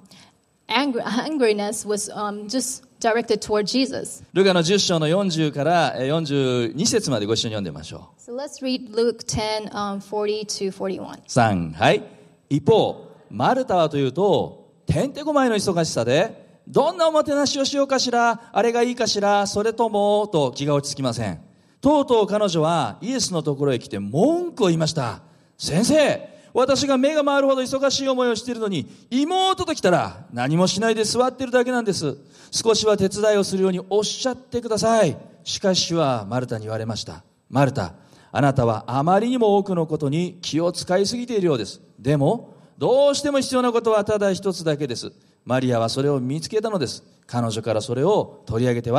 angriness was just directed toward Jesus. ルカの10章の40から42節までご一緒に読んでみましょう。 So let's read Luke 10, 40 to 41. 3、はい。一方、マルタはというと、てんてこまいの忙しさで、どんなおもてなしをしようかしら、あれがいいかしら、それとも、と気が落ち着きません。とうとう彼女はイエスのところへ来て文句を言いました。先生、私が目が回るほど忙しい思いをしているのに、妹と来たら何もしないで座っているだけなんです。少しは手伝いをするようにおっしゃってください。しかし主はマルタに言われました。マルタ、あなたはあまりにも多くのことに気を使いすぎているようです。でも、どうしても必要なことはただ一つだけです。マリアはそれを見つけたのです。彼女からそれを取り上げては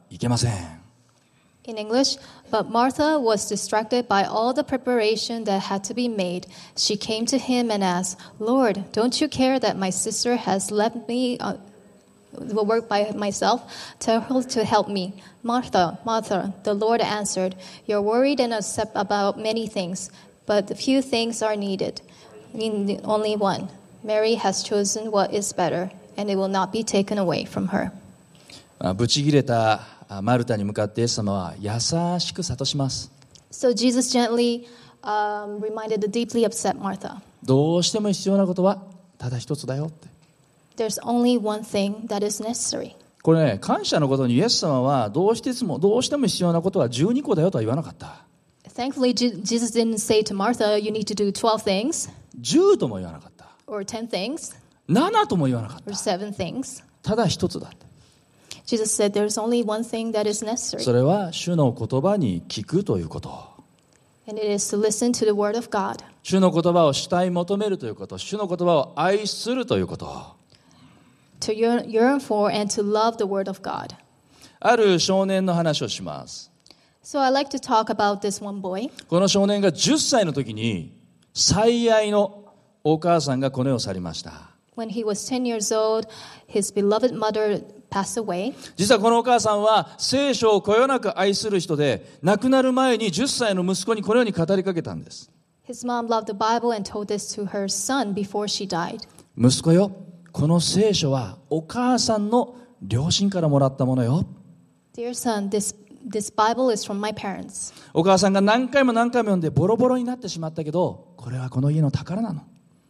いけません。 In English, but Martha was distracted by all the preparation that had to be made. She came to him and asked, Lord, don't you care that my sister has left me the work by myself? Tell her to help me. Martha, Martha, the Lord answered, you're worried and upset about many things, but few things are needed. Only one. Mary has chosen what is better, and it will not be taken away from her. ぶち切れたマルタに向かってイエス様は優しく諭します。 So Jesus gently reminded the deeply upset Martha. どうしても必要なことはただ一つだよって。 There's only one thing that is necessary. これね、感謝のことにイエス様はどうしても必要なことは12個だよとは言わなかった。 Thankfully, Jesus didn't say to Martha, you need to do 12 things, 10とも言わなかった。 or 10 things, 7とも言わなかっ or た。 7 things. ただ一つだって。 Jesus said there's only one thing that is そ necessary, れは主の言葉に聞くということ。 and it is to listen to the word of God, 主の言葉を主体求めるということ。主の言葉を愛するということ。 to yearn for and to love the word of God. ある少年の話をします。 So I like to talk about this one boy. この少年が10歳の時に最愛のお母さんがこの世を去りました。 When he was 10 years old, his beloved mother passed away. 実はこのお母さんは聖書をこよなく愛する人で、亡くなる前に10歳の息子にこのように語りかけたんです。 His mom loved the Bible and told this to her son before she died. 息子よ、この聖書はお母さんの両親からもらったものよ。 Dear son, this Bible is from my parents. お母さんが何回も読んでボロボロになってしまったけど、これはこの家の宝なの。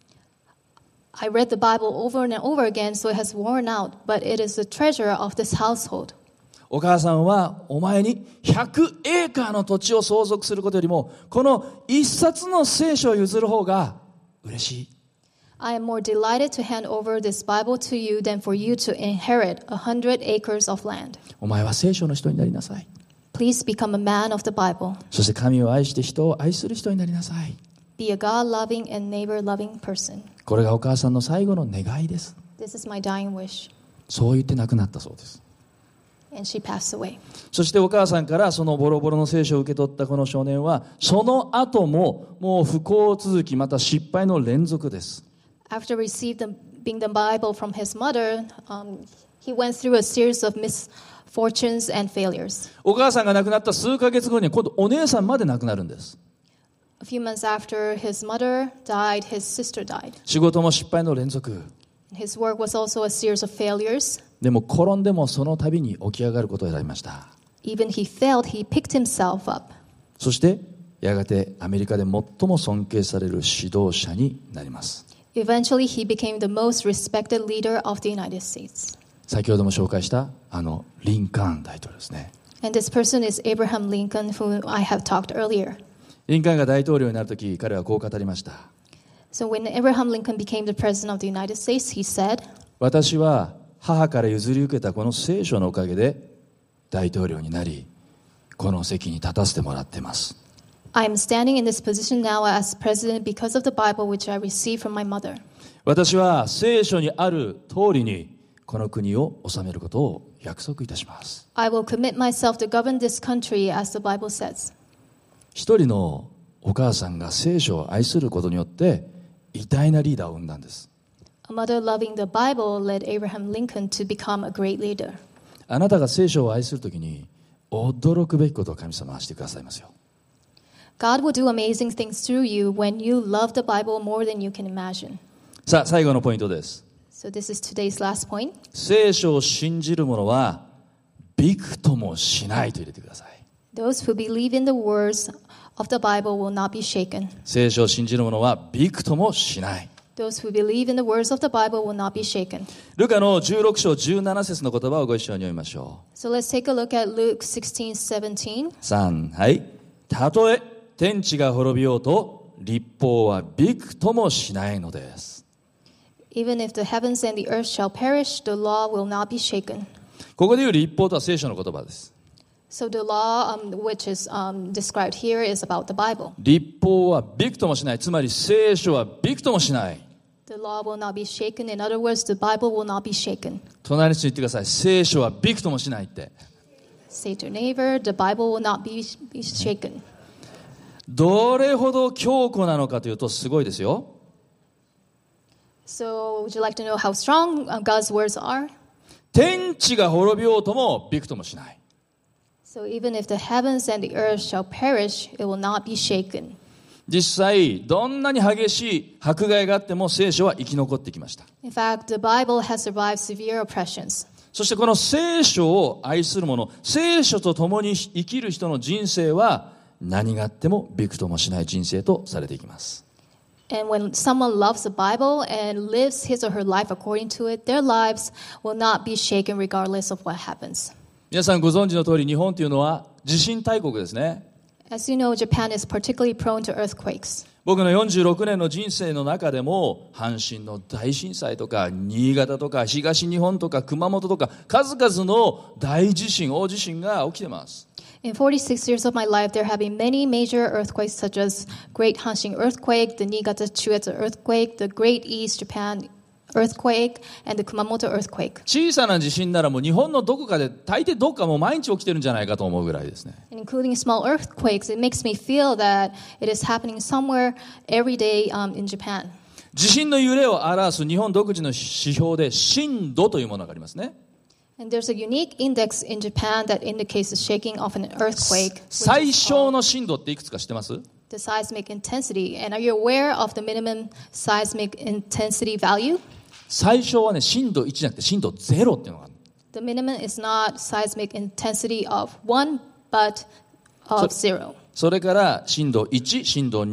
I read the Bible over and over again, so it has worn out, but it is the treasure of this household. お母さんはお前に100エーカーの土地を相続することよりも、この一冊の聖書を譲る方が嬉しい。 I am more delighted to hand over this Bible to you than for you to inherit 100 acres of land. お前は聖書の人になりなさい。 Please become a man of the Bible. そして神を愛して人を愛する人になりなさい。 Be a God-loving and neighbor-loving person. これがお母さんの最後の願いです。 This is my dying wish. そう言って亡くなったそうです。 And she passed away. そしてお母さんからそのボロボロの聖書を受け取ったこの少年は、その後ももう不幸続き、また失敗の連続です。 After receiving the Bible from his mother, he went through a series of misfortunes and failures. お母さんが亡くなった数ヶ月後に今度お姉さんまで亡くなるんです。 A few months after his mother died, his sister died. 仕事も失敗の連続。 His work was also a series of failures. でも転んでもその度に起き上がることを選びました。 Even he failed, he picked himself up. そしてやがてアメリカで最も尊敬される指導者になります。 Eventually, he became the most respected leader of the United States. 先ほども紹介したリンカーン大統領ですね。 And this person is Abraham Lincoln, who I have talked earlier. リンカーンが大統領になるとき、彼はこう語りました。 So when Abraham Lincoln became the president of the United States, he said, 私は母から譲り受けたこの聖書のおかげで大統領になり、この席に立たせてもらっています。 I am standing in this position now as president because of the Bible which I received from my mother. 私は聖書にある通りにこの国を治めることを約束いたします。 I will commit myself to govern this country as the Bible says. 一人のお母さんが聖書を愛することによって偉大なリーダーを生んだんです。 A mother loving the Bible led Abraham Lincoln to become a great leader. あなたが聖書を愛するときに驚くべきことを神様はしてくださいますよ。 God will do amazing things through you when you love the Bible more than you can imagine. さあ最後のポイントです。 So this is today's last point. 聖書を信じる者はびくともしないと入れてください。 Those who believe in the words of the Bible will not be shaken. 聖書を信じる者はびくともしない。 Those who believe in the words of the Bible will not be shaken. ルカの16章17節の言葉をご一緒に読みましょ So let's take a look at Luke 16:17. う。3、はい。たとえ天地が滅びようと律法はびくともしないのです。 Even if the heavens and the earth shall perish, the law will not be shaken. ここで言う律法とは聖書の言葉です。 So the law which is described here is about the Bible. 律法はびくともしない。つまり聖書はびくともしない。 The law will not be shaken. In other words, the Bible will not be shaken. 隣に言ってください。聖書はびくともしないって。 Say to your neighbor, the Bible will not be shaken. どれほど強固なのかというとすごいですよ。 So, would you like to know how strong God's words are? 天地が滅びようともびくともしない。 So, even if the heavens and the earth shall perish, it will not be shaken. 実際どんなに激しい迫害があっても聖書は生き残ってきました。 In fact, the Bible has survived severe oppressions. そしてこの聖書を愛する者、聖書と共に生きる人の人生は何があってもびくともしない人生とされていきます。 And when someone loves the Bible and lives his or her life according to it, their lives will not be shaken regardless of what happens. 皆さんご存知の通り日本というのは地震大国ですね。 As you know, Japan is particularly prone to earthquakes. 僕の46年の人生の中でも阪神の大震災とか新潟とか東日本とか熊本とか数々の大地震、大地震が起きてます。 In 46 years of my life, there have been many major earthquakes such as Great Hanshin earthquake, the Niigata Chuetsu earthquake, the Great East Japan earthquake, and the Kumamoto earthquake. 小さな地震ならもう日本のどこかで大抵どっかもう毎日起きてるんじゃないかと思うぐらいですね。 And including small earthquakes, it makes me feel that it is happening somewhere every day in Japan. 地震の揺れを表す日本独自の指標で震度というものがありますね。 And there's a unique index in Japan that indicates the shaking of an earthquake, 最 which is 小 called の震度っていくつか知ってます？ the seismic intensity. And are you aware of the minimum seismic intensity value? 最小はね震度1じゃなくて震度0っていうのがある。 The minimum is not seismic intensity of 1, but of 0. それから震度1、震度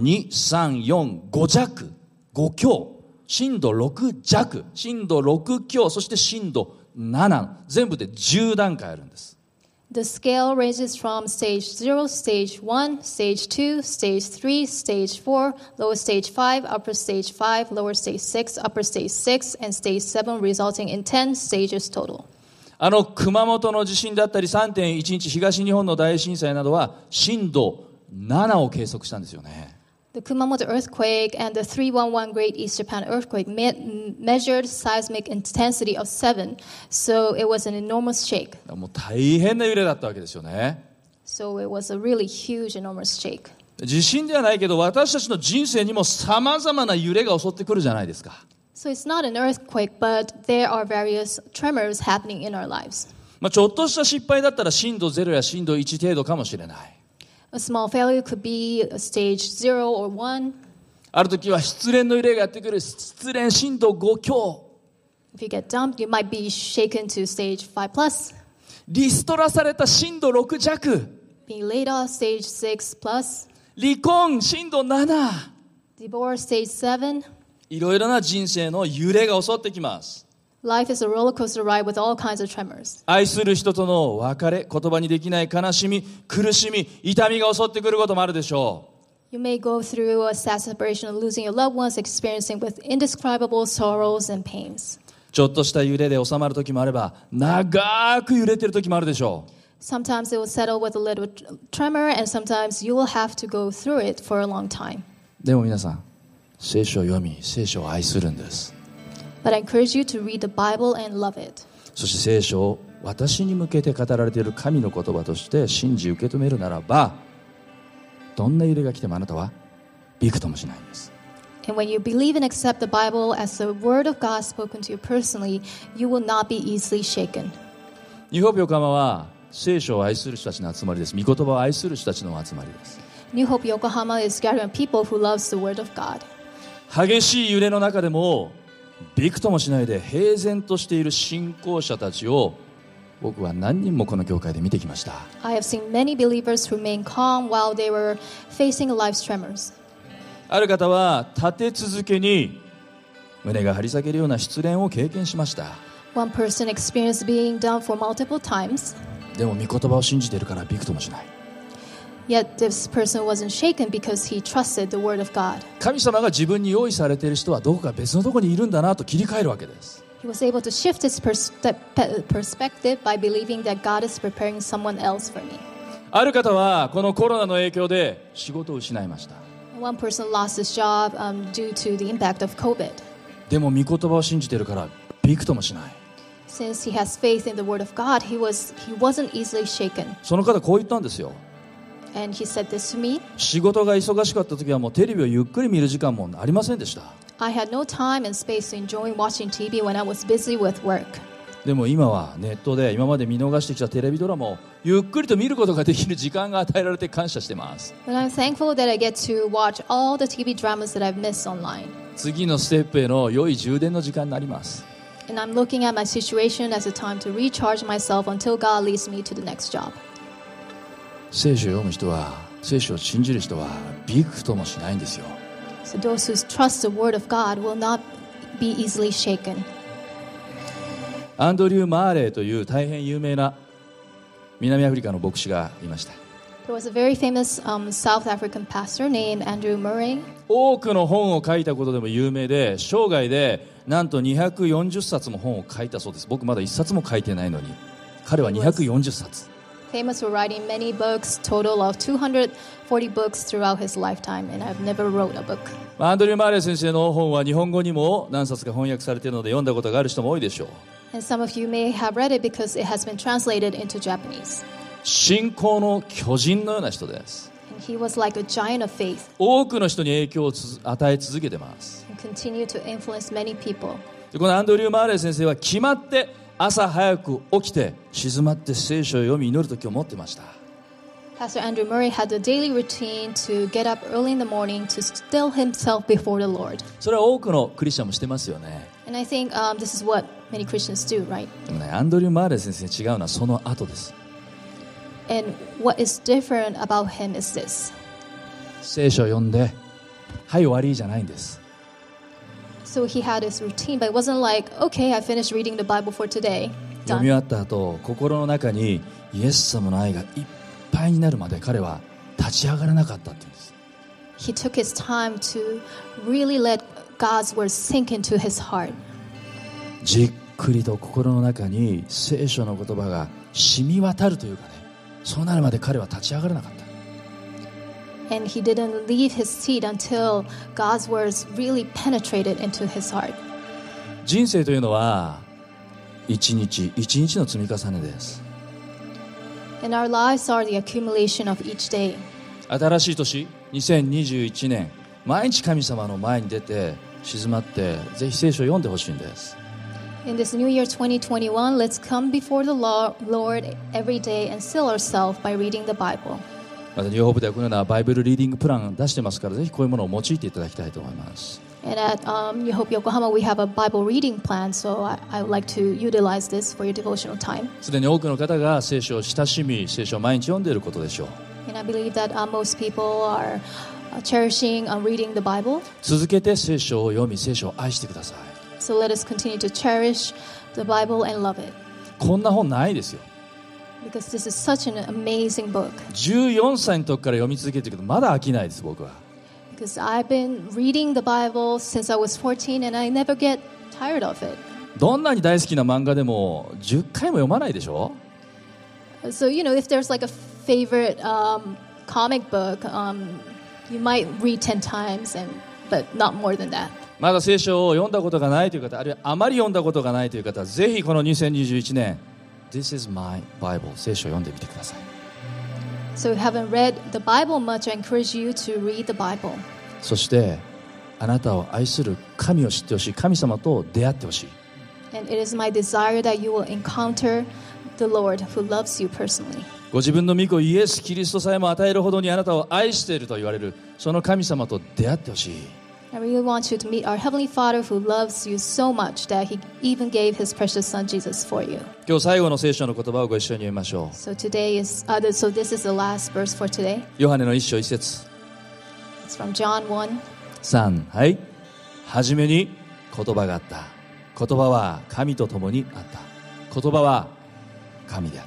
2、3、4、5弱、5強、震度6弱、震度6強、そして震度7、全部で10段階あるんです。 The scale ranges from stage 0, stage 1, stage 2, stage 3, stage 4, lower stage 5, upper stage 5, lower stage 6, upper stage 6, and stage 7, resulting in 10 stages total. 熊本の地震だったり 3.11 東日本の大震災などは震度7を計測したんですよね。 The Kumamoto earthquake and the 311 Great East Japan earthquake measured seismic intensity of 7, so it was an enormous shake. もう大変な揺れだったわけですよね。 So it was a really huge, enormous shake. 地震ではないけど私たちの人生にも様々な揺れが襲ってくるじゃないですか。 So it's not an earthquake, but there are various tremors happening in our lives. ちょっとした失敗だったら震度0や震度1程度かもしれない。 A small failure could be a stage 0 or 1. ある時は失恋の揺れがやってくる。失恋震度5強。 If you get dumped, you might be shaken to stage 5 plus. リストラされた震度6弱。 Being laid off, stage 6 plus. 離婚震度7。 Divorce, stage 7. いろいろな人生の揺れが襲ってきます。 Life is a roller coaster ride with all kinds of tremors. 愛する人との別れ、言葉にできない悲しみ、苦しみ、痛みが襲ってくることもあるでしょう。 You may go through a sad separation of losing your loved ones, experiencing with indescribable sorrows and pains. ちょっとした揺れで収まる時もあれば、長く揺れてる時もあるでしょう。 Sometimes it will settle with a little tremor, and sometimes you will have to go through it for a long time. でも皆さん、聖書を読み、聖書を愛するんです。 But I encourage you to read the Bible and love it. そして聖書を私に向けて語られている神の言葉として信じ受け止めるならば、どんな揺れが来てもあなたはびくともしないんです。 And when you believe and accept the Bible as the Word of God spoken to you personally, you will not be easily shaken. ニューホープ横浜は聖書を愛する人たちの集まりです。御言葉を愛する人たちの集まりです。 New Hope Yokohama is gathering people who loves the Word of God. 激しい揺れの中でもびくともしないで平然としている信仰者たちを僕は何人もこの教会で見てきました。 I have seen many believers remain calm while they were facing life's tremors. ある方は立て続けに胸が張り裂けるような失恋を経験しました。 One person experienced being down for multiple times, でも御言葉を信じているからびくともしない。 yet this person wasn't shaken because he trusted the Word of God. 神様が自分に用意されている人はどこか別のところにいるんだなと切り替えるわけです。 He was able to shift his perspective by believing that God is preparing someone else for me. ある方はこのコロナの影響で仕事を失いました。 One person lost his job due to the impact of COVID. でも御言葉を信じているからびくともしない。 Since he has faith in the word of God, he wasn't easily shaken. その方こう言ったんですよ。 And he said this to me. 仕事が忙しかった時はもうテレビをゆっくり見る時間もありませんでした。 I had no time and space to enjoy watching TV when I was busy with work. でも今はネットで今まで見逃してきたテレビドラマをゆっくりと見ることができる時間が与えられて感謝してます。 But I'm thankful that I get to watch all the TV dramas that I've missed online. 次のステップへの良い充電の時間になります。 And I'm looking at my situation as a time to recharge myself until God leads me to the next job. 聖書を読む人は、聖書を信じる人はびくともしないんですよ。 So those who trust the word of God will not be easily shaken. アンドリュー・マーレーという大変有名な南アフリカの牧師がいました。 There was a very famous South African pastor named Andrew Murray. 多くの本を書いたことでも有名で、生涯でなんと240冊も本を書いたそうです。僕まだ1冊も書いてないのに、彼は240冊。 Famous for writing many books, total of 240 books throughout his lifetime, and I've never wrote a book. アンドリュー・マーレー先生の本は日本語にも何冊か翻訳されているので読んだことがある人も多いでしょう。 And some of you may have read it because it has been translated into Japanese. 信仰の巨人のような人です。 And he was like a giant of faith 多くの人に影響を与え続けてます。 and continued to influence many people. でこのアンドリュー・マーレー先生は決まって朝早く起きて静まって聖書を読み祈る時を持ってました。 Pastor Andrew Murray had a daily routine to get up early in the morning to still himself before the Lord. それは多くのクリスチャンもしてますよね。 And I think this is what many Christians do, right? でもね、アンドリュー・マーレー先生違うのはその後です。 And what is different about him is this. 聖書を読んではい終わりじゃないんです。 So he had his routine, but it wasn't like, okay, I finished reading the Bible for today. 読み終 Done. わった後、心の中にイエス様の愛がいっぱいになるまで彼は立ち上がらなかったって言うんです。 He took his time to really let God's word sink into his heart. じっくりと心の中に聖書の言葉が染み渡るというかね、そうなるまで彼は立ち上がらなかった。 And he didn't leave his seat until God's words really penetrated into his heart. 人生というのは一日一日の積み重ねです。 And our lives are the accumulation of each day. 新しい年2021年、毎日神様の前に出て静まってぜひ聖書を読んでほしいんです。 In this new year 2021, let's come before the Lord every day and still ourselves by reading the Bible. またニューホープではこのようなバイブルリーディングプラン出してますから、ぜひこういうものを用いていただきたいと思います。 And at New Hope Yokohama, we have a Bible reading plan, so I would like to utilize this for your devotional time. すでに多くの方が聖書を親しみ、聖書を毎日読んでいることでしょう。 And I believe that most people are cherishing reading the Bible. 続けて聖書を読み、聖書を愛してください。 So let us continue to cherish the Bible and love it. こんな本ないですよ。 Because this is such an amazing book. 14歳の時から読み続けてるけどまだ飽きないです、僕は。 Because I've been reading the Bible since I was 14 and I never get tired of it. どんなに大好きな漫画でも10回も読まないでしょ。 So, you know, if there's like a favorite comic book, you might read 10 times, but not more than that. まだ聖書を読んだことがないという方、あるいはあまり読んだことがないという方は、ぜひこの2021年 This is my Bible 聖書を読んでみてください。 So if you haven't read the Bible much, I encourage you to read the Bible. そしてあなたを愛する神を知ってほしい、神様と出会ってほしい。 And it is my desire that you will encounter the Lord who loves you personally. ご自分の御子イエス・キリストさえも与えるほどにあなたを愛していると言われるその神様と出会ってほしい。 I really want you to meet our Heavenly Father who loves you so much that He even gave His precious Son Jesus for you. 今日最後の聖書の言葉をご一緒に読みましょう。 So this is the last verse for today. ヨハネの一章一節 It's from John 1. 3、はい。はじめに言葉があった。言葉は神と共にあった。言葉は神であった。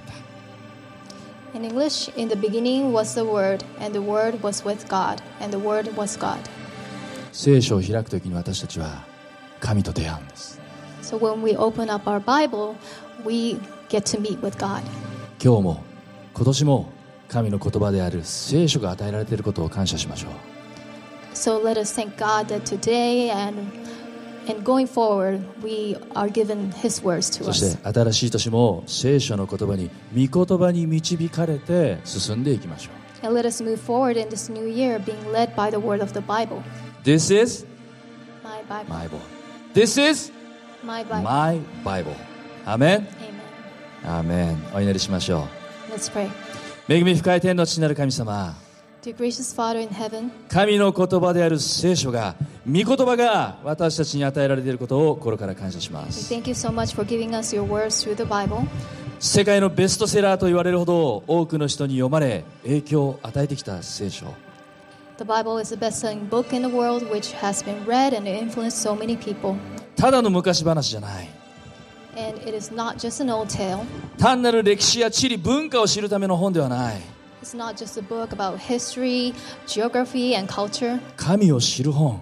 In English, in the beginning was the Word, and the Word was with God, and the Word was God. 聖書を開くときに私たちは神と出会うんです。 So when we open up our Bible, we get to meet with God. 今日も今年も神の言葉である聖書が与えられていることを感謝しましょう。 So let us thank God that today and And going forward, we are given His words to そし us. て新しい年も聖書の言葉に御言葉に導かれて進んでいきましょう。 And let us move forward in this new year being led by the word of the Bible. This is My Bible. my Bible. This is My Bible. my Bible. アーメン。 Amen. アーメン。お祈りしましょ Let's pray. う。恵み深い天の父なる神様、 Dear gracious Father in heaven, 神の言葉である聖書が、御言葉が私たちに与えられていることを心から感謝しま we す。 thank you so much for giving us your words through the Bible. 世界のベストセラーと言われるほど多くの人に読まれ影響を与えてきた聖書。 The Bible is the best-selling book in the world which has been read and influenced so many people. ただの昔話じゃない。 And it is not just an old tale. 単なる歴史や地理文化を知るための本ではない。 It's not just a book about history, geography, and culture. 神を知る本。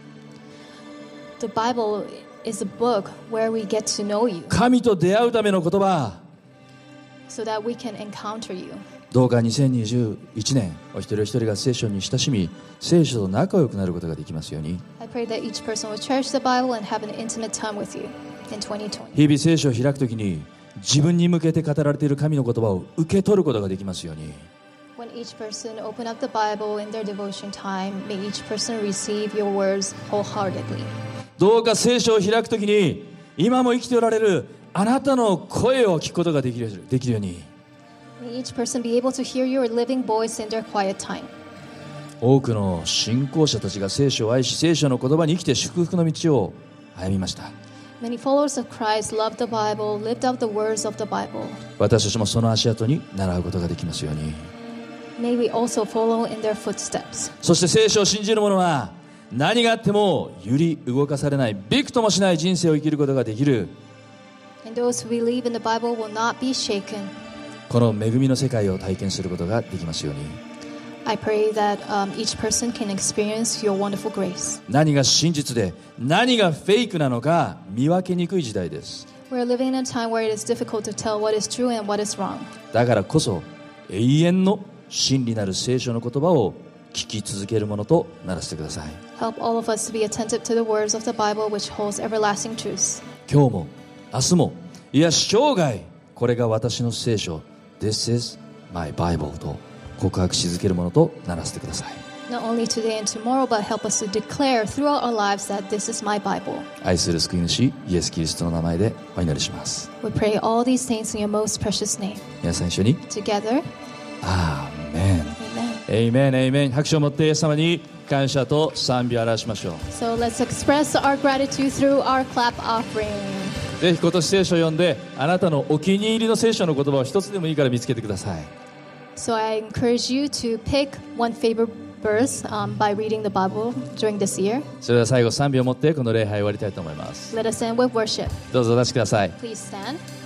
The Bible is a book where we get to know you 神と出会うための言葉。 so that we can encounter you. どうか2021年お一人お一人が聖書に親しみ、聖書と仲良くなることができますように。 I pray that each person will cherish the Bible and have an intimate time with you in 2020. 日々聖書を開くときに自分に向けて語られている神の言葉を受け取ることができますように。 When each person open up the Bible in their devotion time, may each person receive your words wholeheartedly. どうか聖書を開くときに今も生きておられるあなたの声を聞くことができるように。 May each person be able to hear your living voice in their quiet time. 多くの信仰者たちが聖書を愛し、聖書の言葉に生きて祝福の道を歩みました。 Many followers of Christ loved the Bible, lived out the words of the Bible. 私たちもその足跡に習うことができますように。 May we also follow in their footsteps. そして聖書を信じる者は何があっても揺り動かされない、びくともしない人生を生きることができる。 And those who believe in the Bible will not be shaken. この恵みの世界を体験することができますように。 I pray that each person can experience your wonderful grace. 何が真実で何がフェイクなのか見分けにくい時代です。 We're living in a time where it is difficult to tell what is true and what is wrong. だからこそ永遠の真理なる聖書の言葉を聞き続けるものとならせてください。 Help all of us to be attentive to the words of the Bible which holds everlasting truths. 今日も明日もいや生涯これが私の聖書 This is my Bible と告白し続けるものとならせてください。 Not only today and tomorrow, but help us to declare throughout our lives that this is my Bible. 愛する救い主イエス・キリストの名前でお祈りします。 We pray all these things in your most precious name. 皆さん一緒に Together, アーメン amen. エイメンエイメン。拍手を持ってイエス様に感謝と賛美を表しましょう。 So let's express our gratitude through our clap offering. ぜひ今年聖書を読んであなたのお気に入りの聖書の言葉を一つでもいいから見つけてください。 So I encourage you to pick one favorite verse by reading the Bible during this year. それでは最後賛美を持ってこの礼拝を終わりたいと思います。 Let us end with worship. どうぞお立ちください。 Please stand.